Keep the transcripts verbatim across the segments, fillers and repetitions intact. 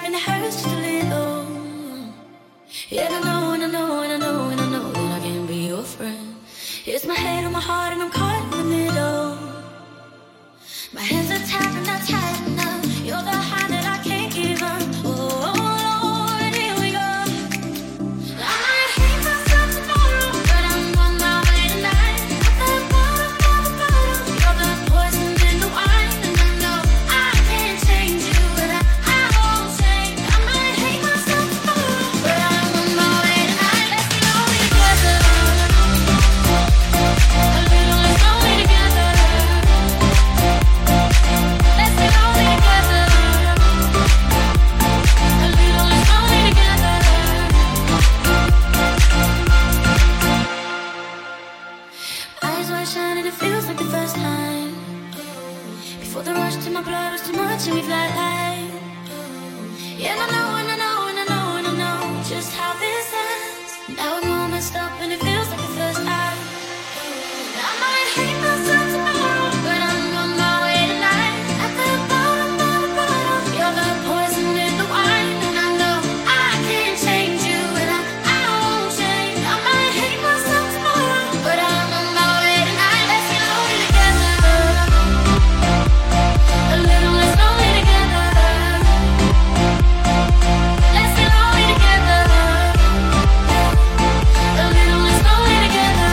and it hurts just a little. Yeah, I know and I know and I know and I know that I can't be your friend. It's my head on my heart and I'm caught in the middle. My hands are tied and not tight enough. You're the high that I can't give up. Oh, Lord, here we go. I might hate myself tomorrow, but I'm on my way tonight. At the bottom of the bottle, you're the poison in the wine, and I know I can't change you, but I, I won't change. I might hate myself tomorrow, but I'm on my way tonight. Let's get lonely together. A little less lonely together. Let's get lonely together. A little less lonely together. Eyes wide shut and it feels like the first time. Before the rush to my blood was too much and we fly high. Yeah, and I know and I know and I know and I know just how this ends. Now I'm all messed up and it feels like the first time. I might hate myself tomorrow, but I'm on my way tonight. At the bottom of the bottle, you're the poison in the wine, and I know I can't change you, and I, I won't change. I might hate myself tomorrow, but I'm on my way tonight. Let's get lonely together. A little less lonely together. Let's get lonely together. A little less lonely together.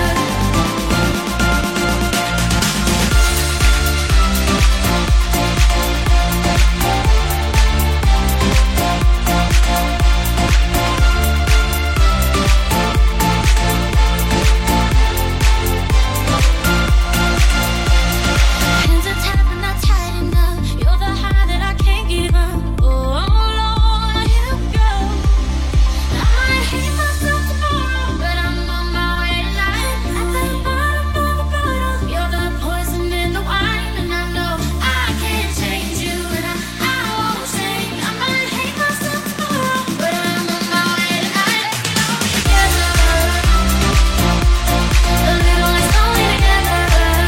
Hands are tied but not tight enough. You're the high that I can't give up. Oh, Lord, here we go. I might hate myself tomorrow, but I'm on my way tonight. At the bottom of the bottle, you're the poison in the wine, and I know I can't change you, and I, I won't change. I might hate myself tomorrow, but I'm on my way tonight. Let's get lonely together. A little less lonely together.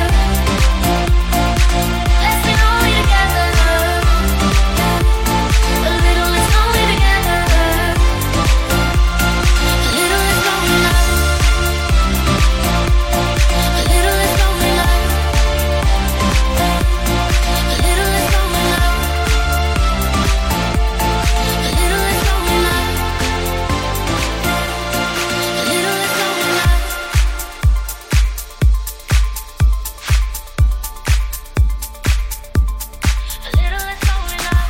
Let's get lonely together. A little less lonely together. A little less lonely love. A little less lonely love. A little less lonely love. A little less lonely love. A little less lonely love. A little less lonely love.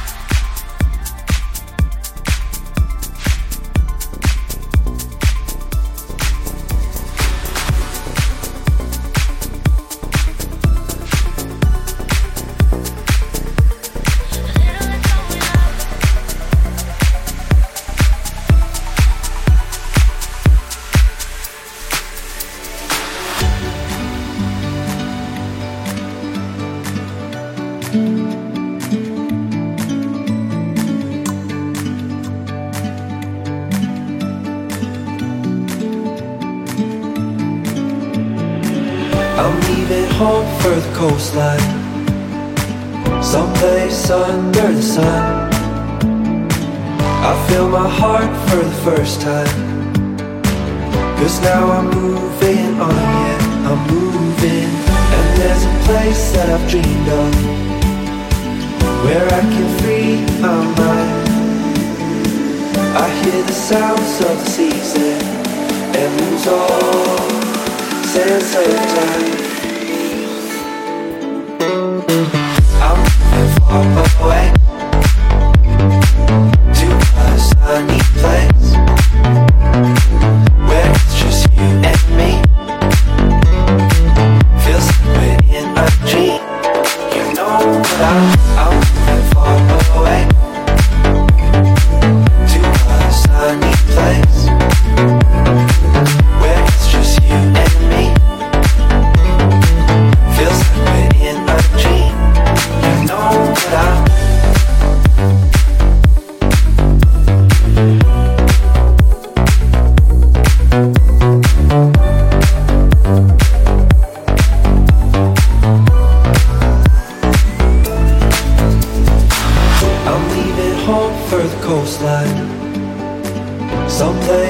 I'm leaving home for the coastline, someplace under the sun. I feel my heart for the first time, 'cause now I'm moving on, yeah, I'm moving. And there's a place that I've dreamed of, where I can free my mind. I hear the sounds of the season and lose all sense of time. I'm far away to a sunny place where it's just you and me. Feels like we're in a dream. You know that I'm, I'm far away to a sunny place where it's just you and me.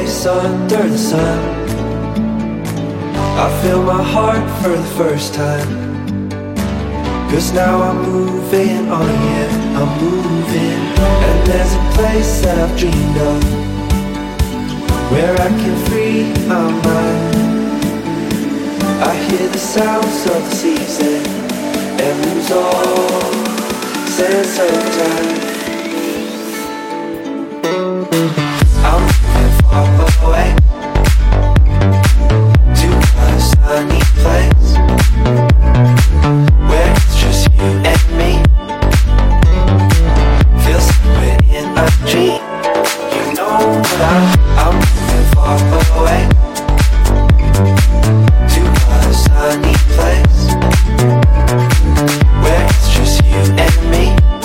place under the sun. I feel my heart for the first time. 'Cause now I'm moving on, yeah, I'm moving. And there's a place that I've dreamed of, where I can free my mind. I hear the sounds of the season and lose all sense of time. I'm moving far away to a sunny place where it's just you and me. Feels like we're in a dream. You know that I'm, I'm moving far away to a sunny place where it's just you and me.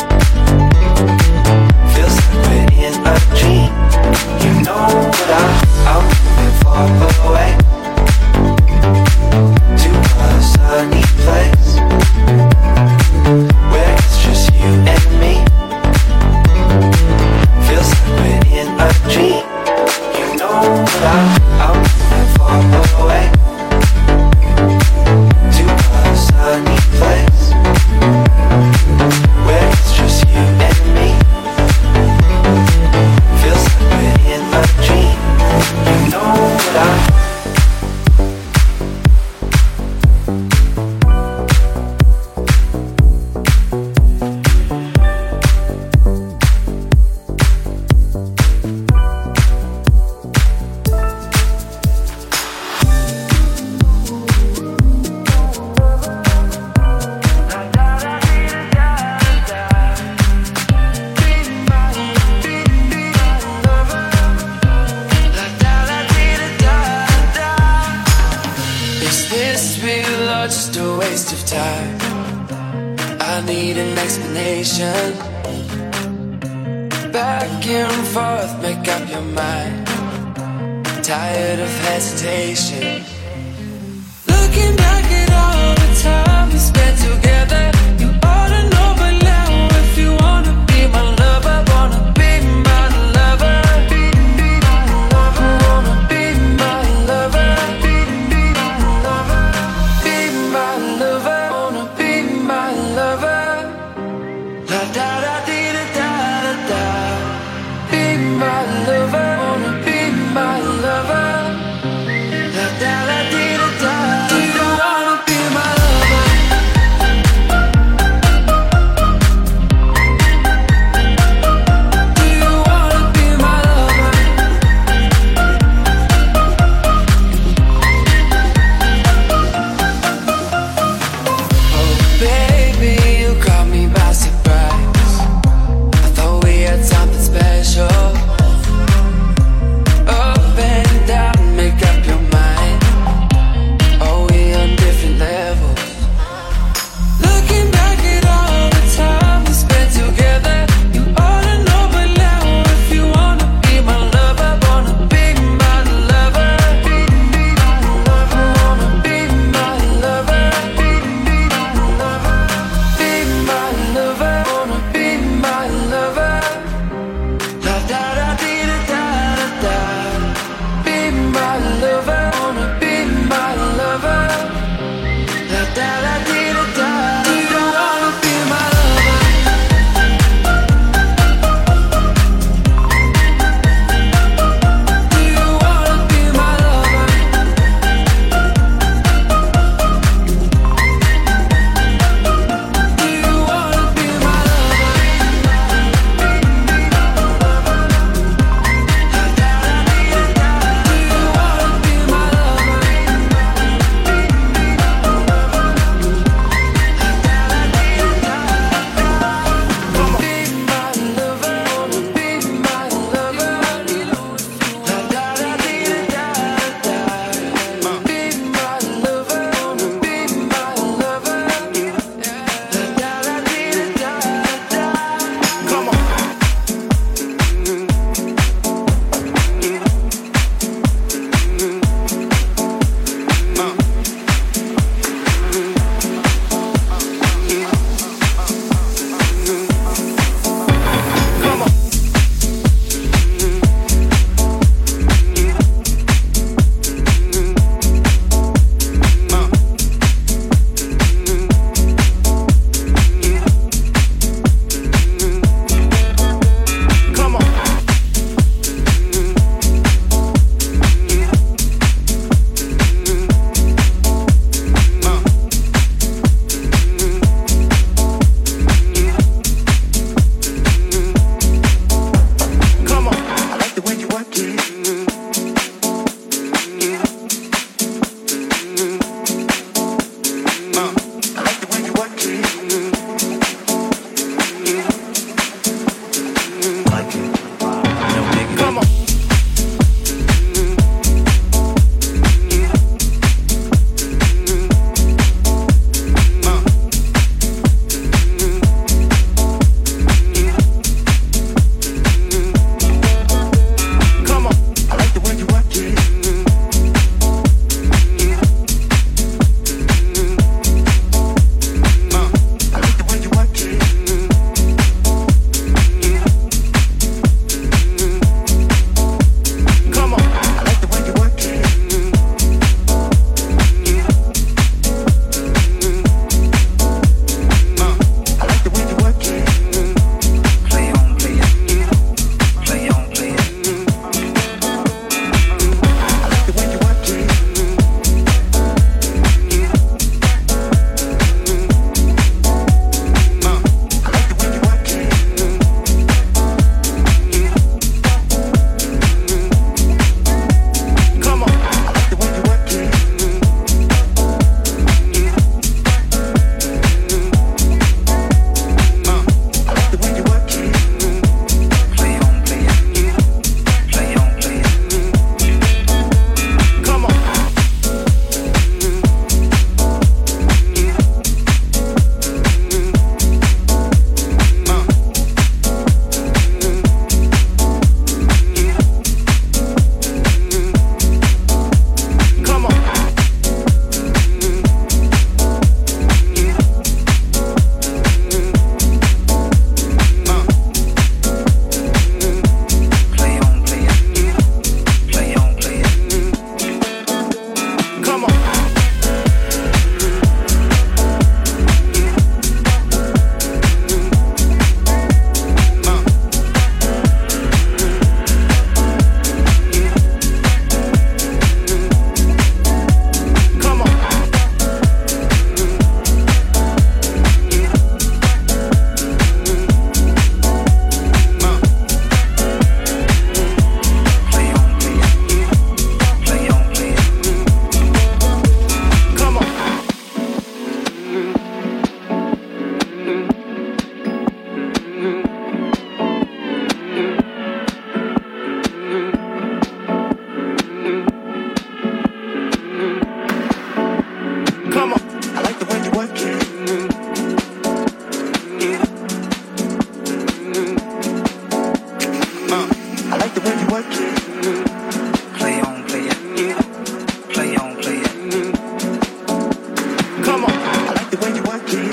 Feels like we're in a dream. You know that I'm, I'm moving far away to a sunny place where it's just you and me. Feels like we're in a dream. You know that I'm, I'm moving far away to a sunny place where it's just you and me. Feels like we're in a dream. You know that I'm just a waste of time. I need an explanation. Back and forth, make up your mind. Tired of hesitation. Looking back at all the time we spent together, you ought to know by now if you wanna be my lover, wanna be my lover. Wanna be my lover. Do you wanna be my lover?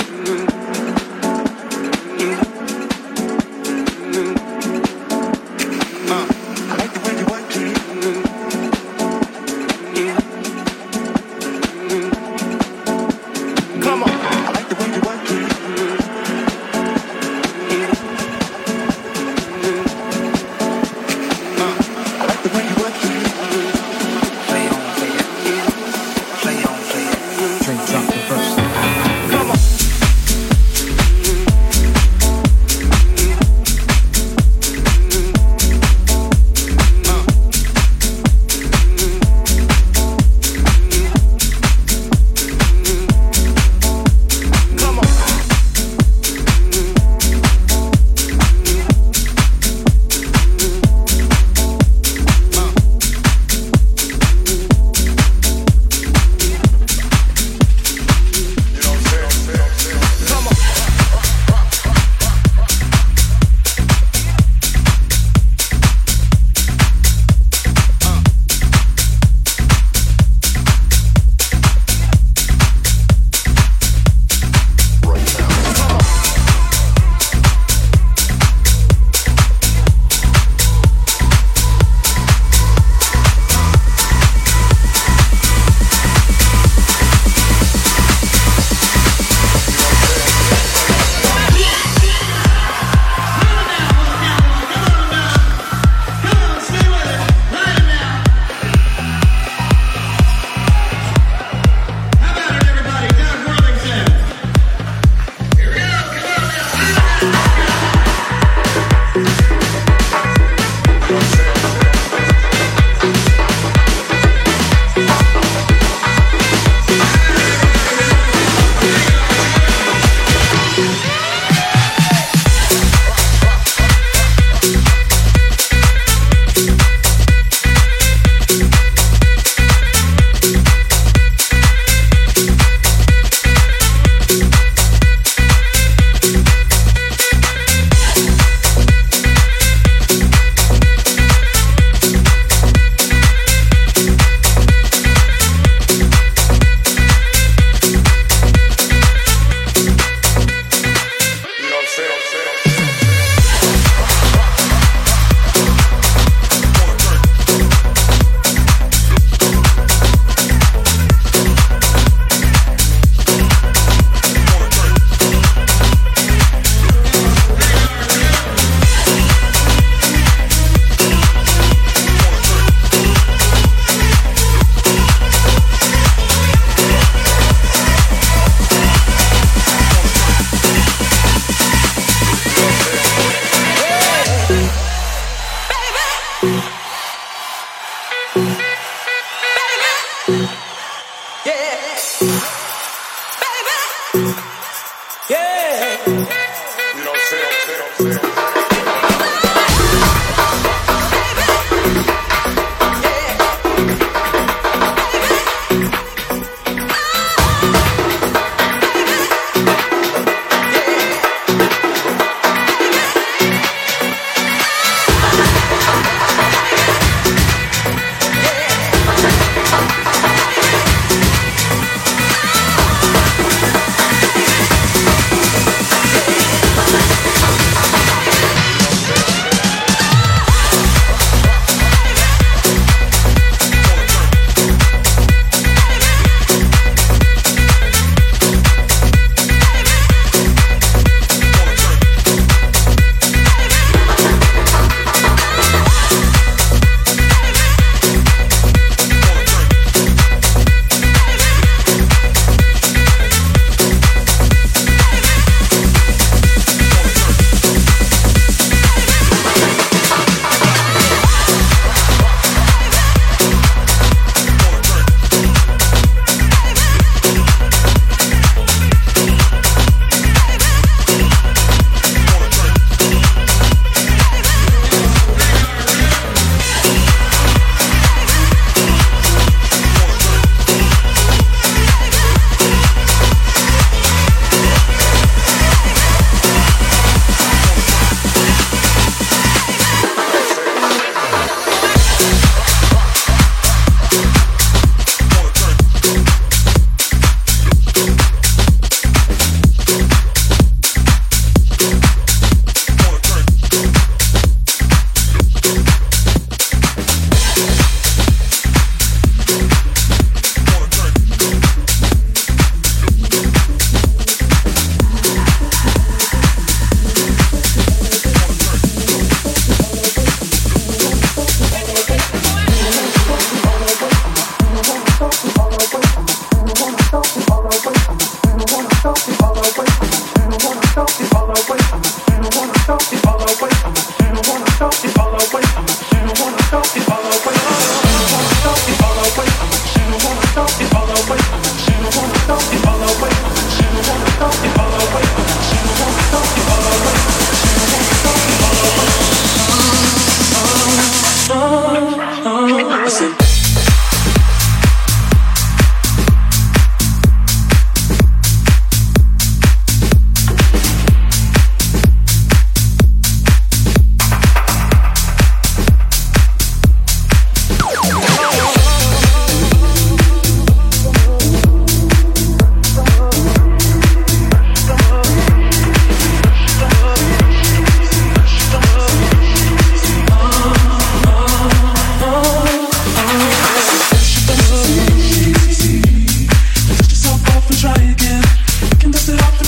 Yeah.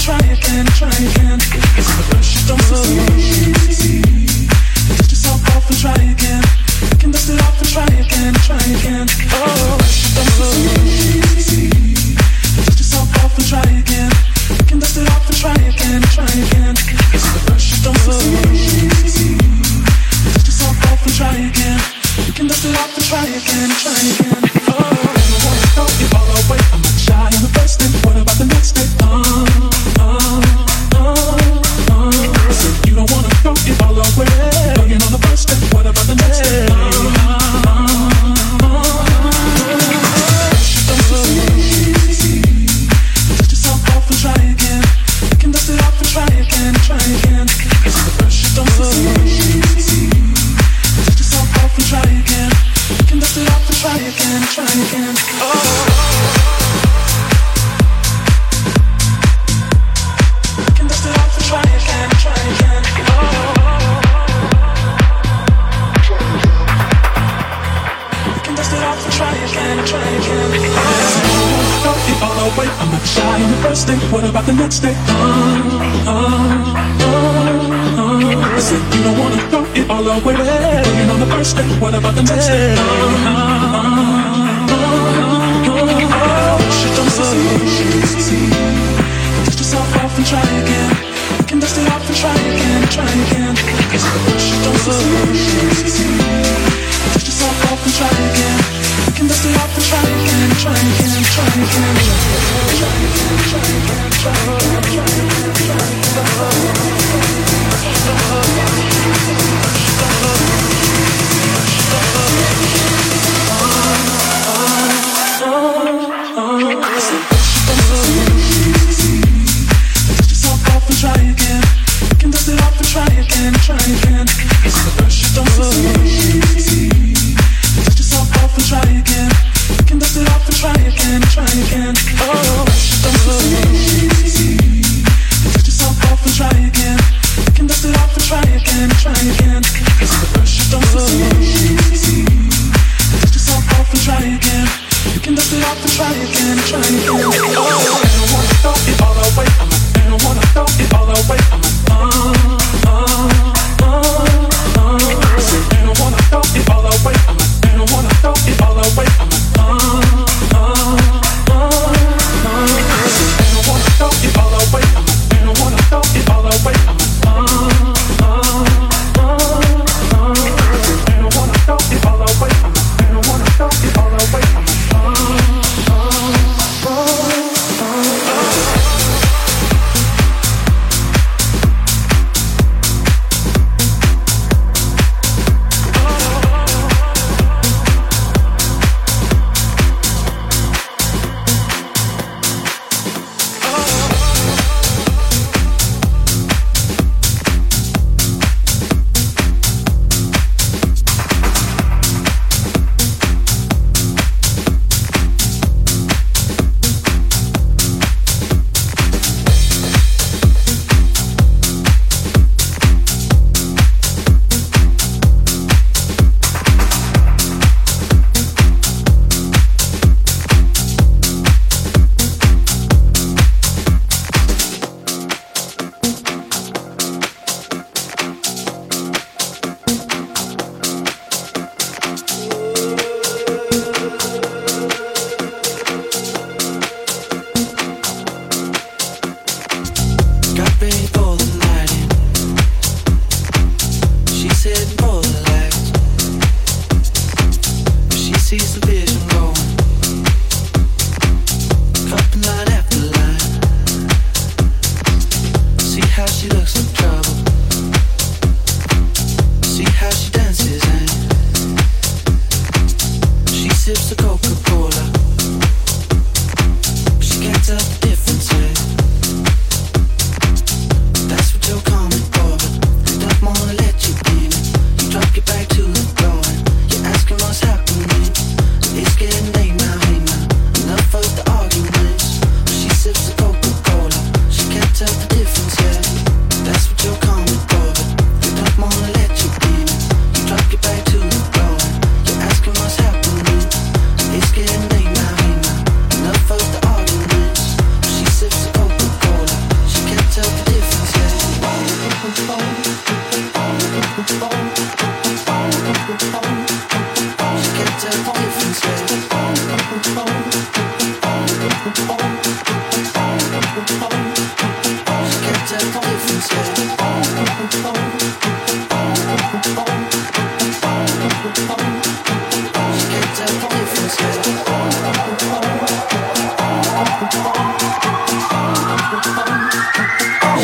That's what you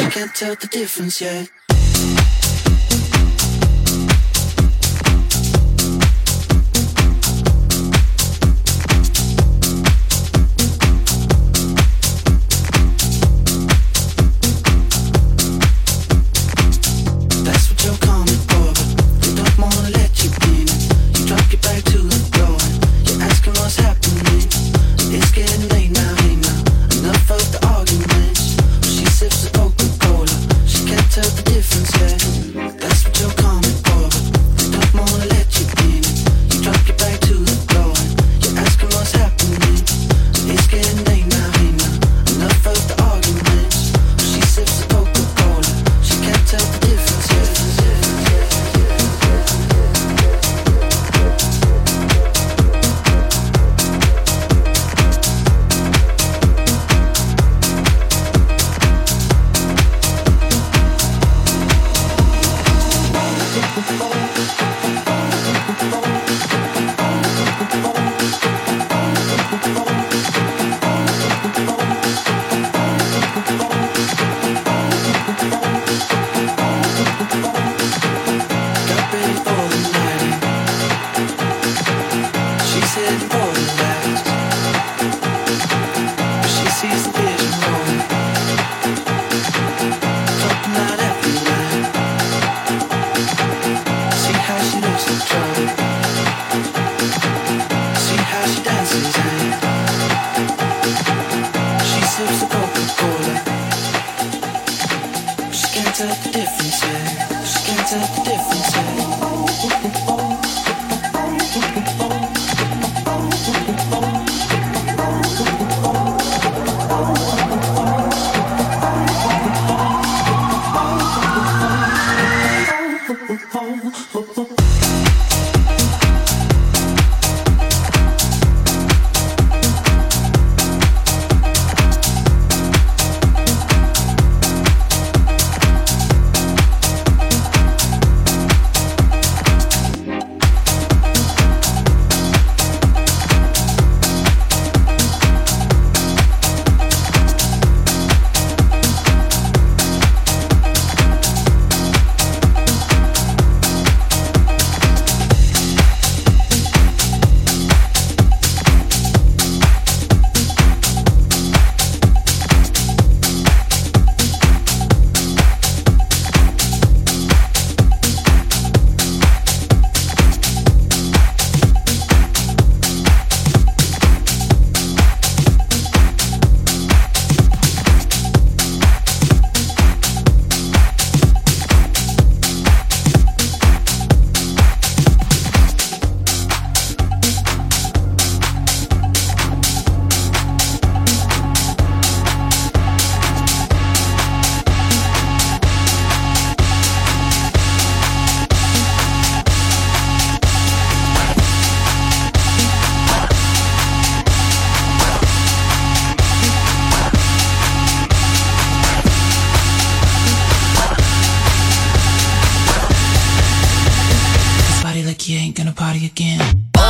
can't tell the difference yet. That's what you're coming for, but they don't wanna let you in. You drop your back to the floor and you're asking what's happening. It's getting late now, hey now, enough of the arguments. She sips the Coca-Cola, she can't tell the difference yet. That's what you're coming for, but they don't wanna let you in. You drop your back to the floor and you're asking what's happening. It's getting late now, hey now, enough of the arguments. She sips the Coca-Cola, she can't tell the difference yet. Got ready for the night. She's heading for the lights, but she sees the vision rolling, dropping out every line. See how she looks in trouble. See how she dances and she sips the Coca-Cola. She can't tell the difference yet. She can't tell the difference yet. You ain't gonna party again.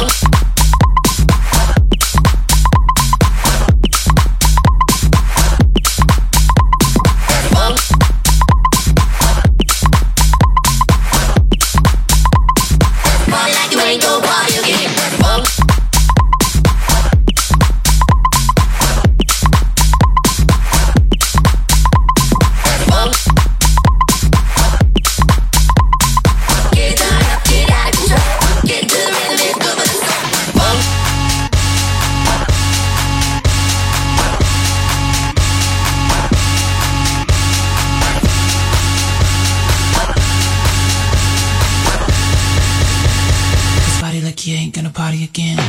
You ain't gonna party again.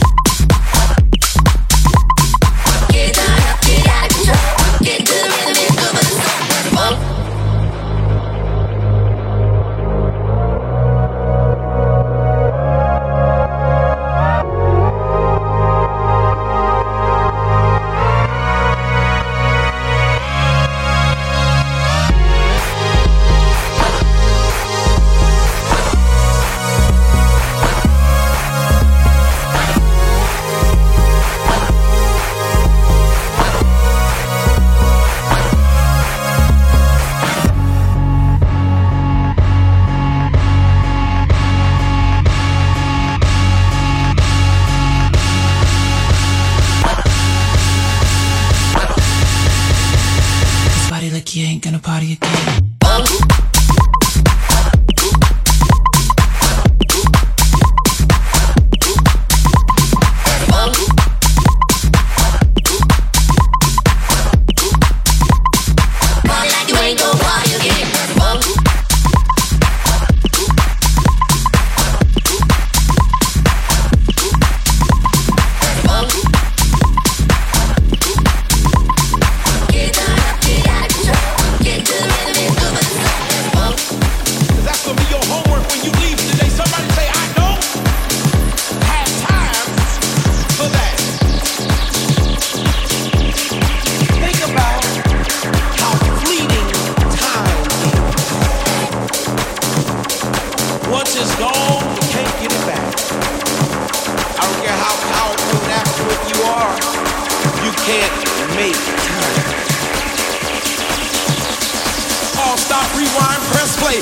Get to the rhythm. make time. All stop, rewind, press play.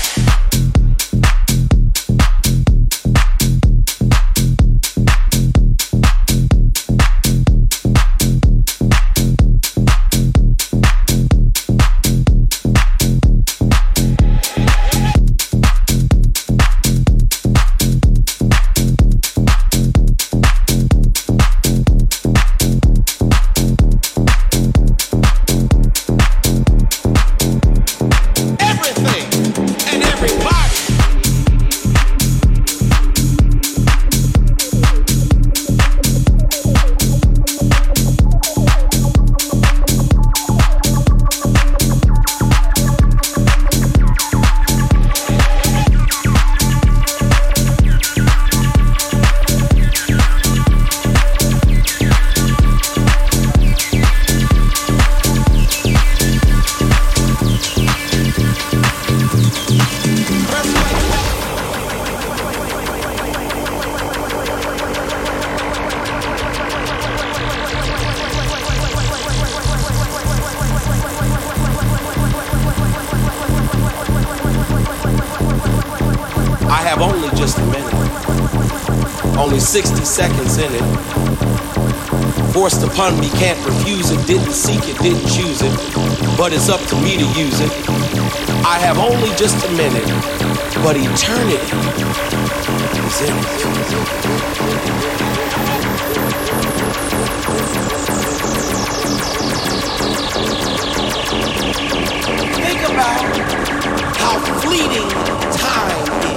sixty seconds in it. Forced upon me, can't refuse it. Didn't seek it, didn't choose it. But it's up to me to use it. I have only just a minute, but eternity is in it. Think about how fleeting time is.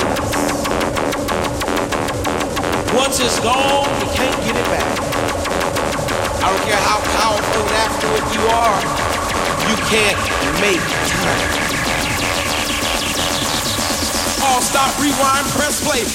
Once it's gone, you can't get it back. I don't care how powerful and affluent you are, you can't make time. All stop, rewind, press play.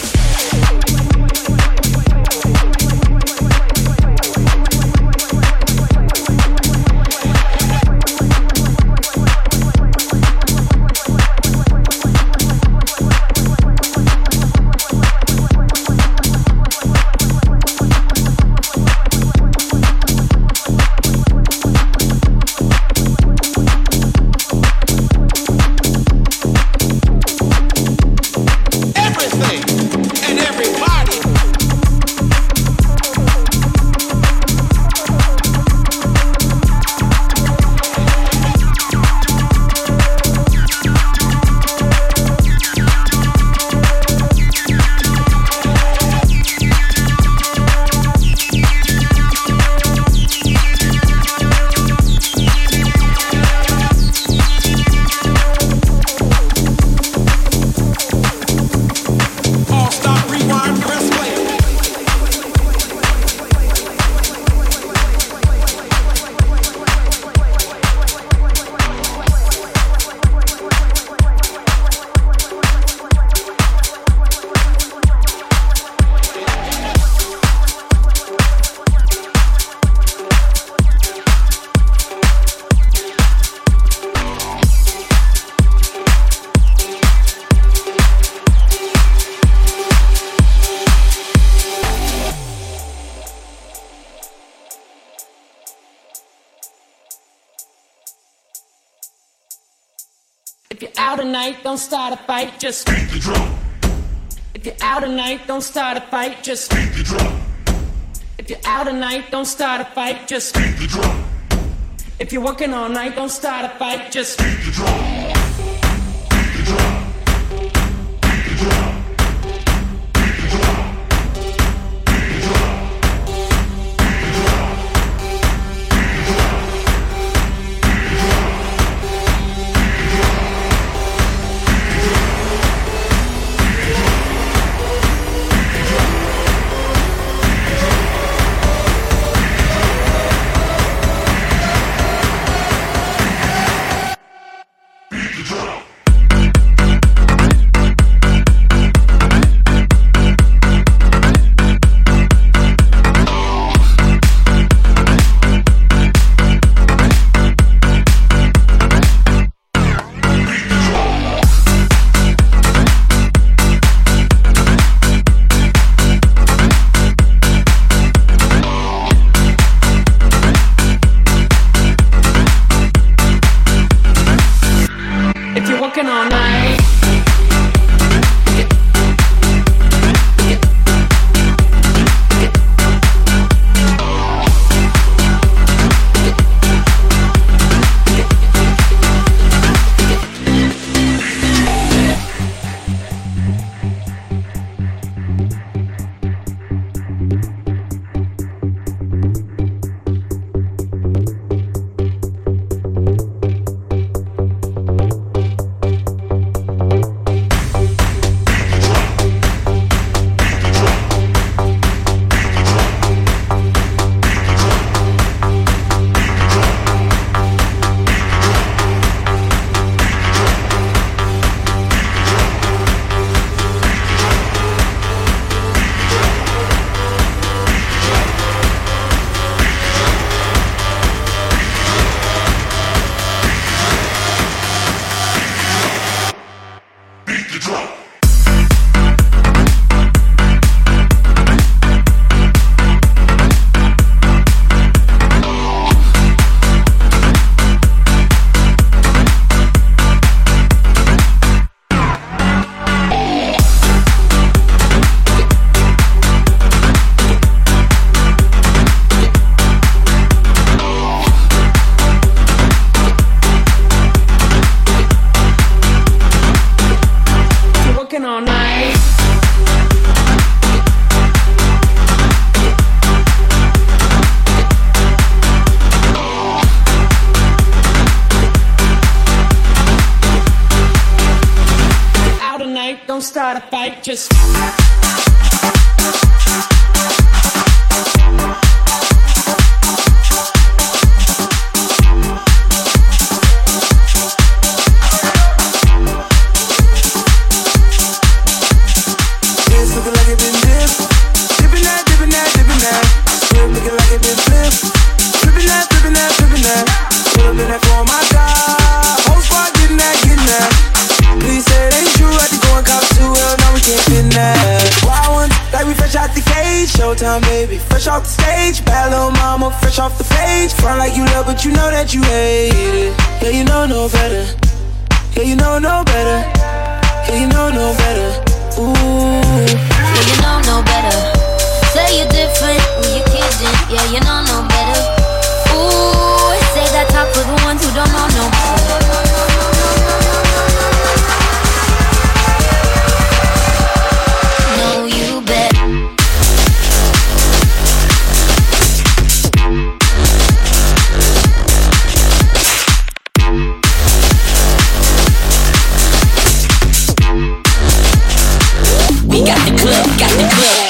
If you're out tonight, don't start a fight, just beat the drum. If you're out tonight, don't start a fight, just beat the drum. If you're out tonight, don't start a fight, just beat the drum. If you're working all night, don't start a fight, just beat the drum. Beat the drum. Beat the drum. Beat the drum. Beat the drum. a fight, just. Showtime, baby, fresh off the stage. Bad little mama, fresh off the page. Front like you love, but you know that you hate it. Yeah, you know no better. Yeah, you know no better. Yeah, you know no better. Ooh. Yeah, you know no better. Say you're different when you're kidding. Yeah, you know no better. Ooh, say that talk for the ones who don't know no better. No, you bet. We got the club, got the club.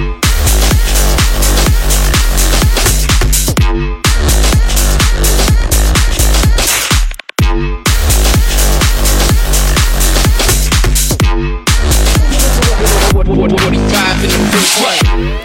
forty-five in the big way.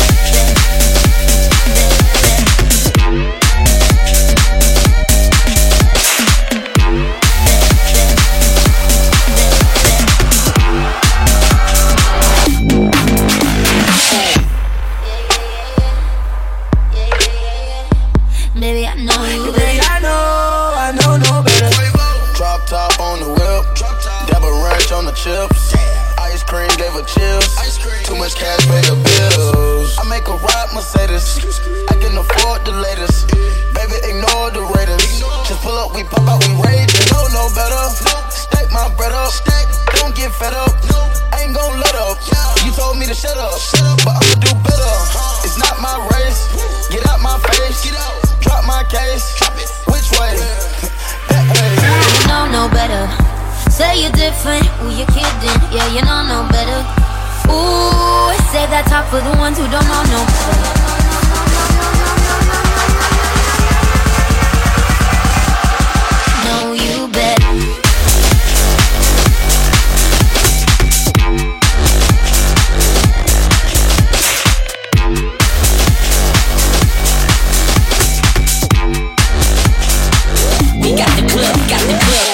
Baby, I know you, baby. I know, I know no better. Drop top on the whip, dab a ranch on the chips. Ice cream gave her chills. Too much cash pay the bills. I make a ride Mercedes. I can afford the latest. Baby, ignore the Raiders. Just pull up, we pop out, we rage. You know no better. Stack my bread up. Don't get fed up. I ain't gon' let up. You told me to shut up, but I'ma do better. It's not my race. Get out my face. Drop my case. Which way? That way. you know no better. Say you're different when you're kidding. Yeah, you know no better. Ooh, say that talk for the ones who don't know no better. No, you bet. We got the club, got the club.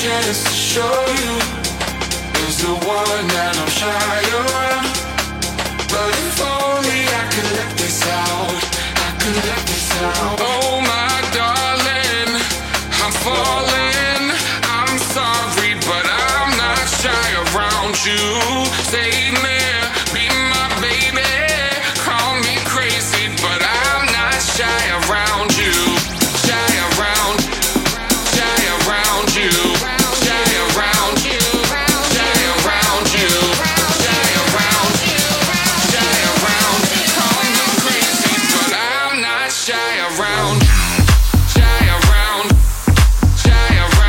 chance to show you is the one that I'm shy around. But if only I could let this out, I could let this out. Oh my darling, I'm falling. I'm sorry, but I'm not shy around you. Save me, be my baby. Call me crazy, but I'm not shy around you. Shy around, shy around you. Shy around you, shy around you. Shy around, shy around. Call me crazy, but I'm not shy around. Shy around, shy around.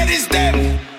is that?